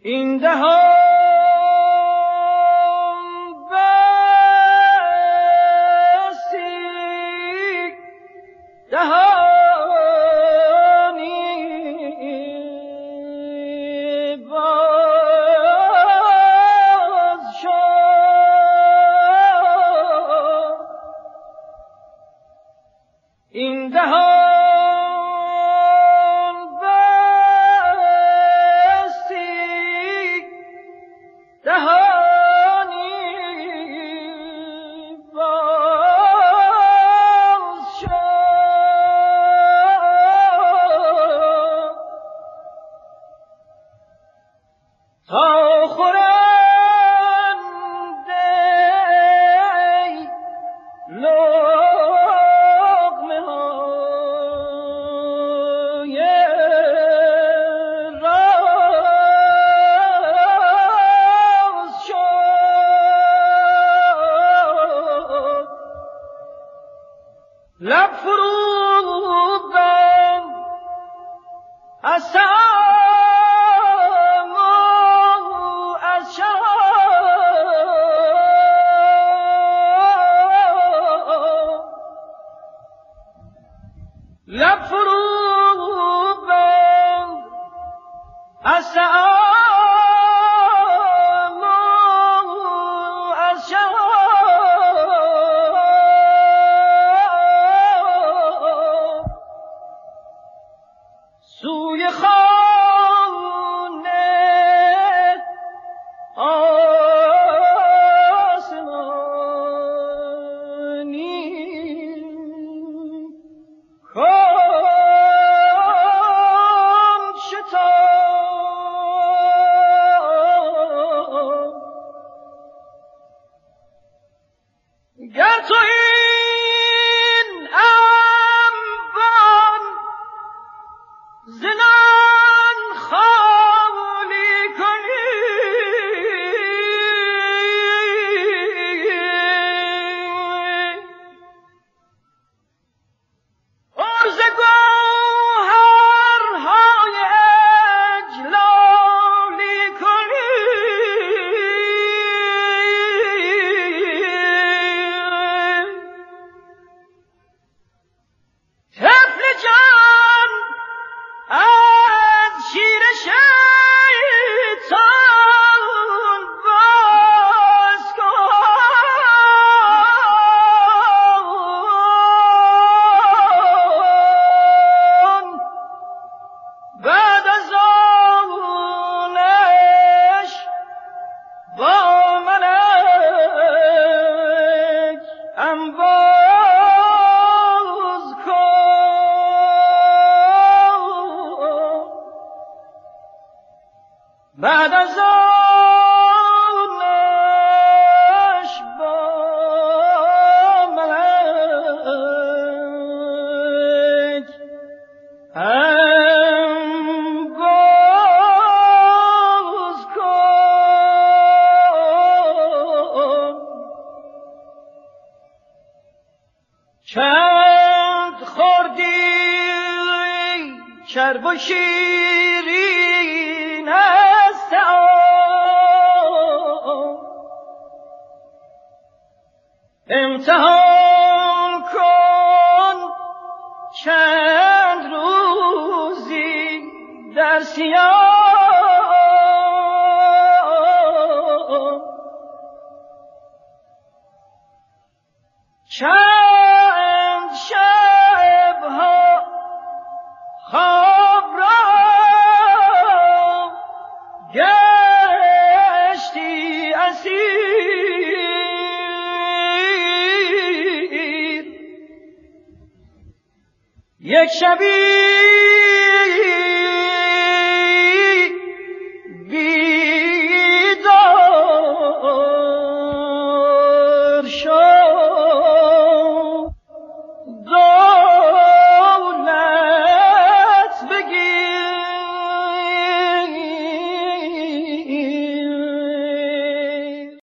این دهان بستی دهانی باز شد این دهان لب فرو بند از سام و از شام لب فرو بند از سام و از شام سوی خانه آسمانی کام شتاب گر تو این انبان زنان خالی کنی عرض گوهرهای اجلالی کنی طفل جان از شیر شیطان باز کن بعد از آنش با ملک انباز کن بعد از آنش با ملک انباز کن چند خوردی چرب و شیرین است امتحان کن چند روزی در سیام چند شبها خواب را گشتی اسیر یک شبی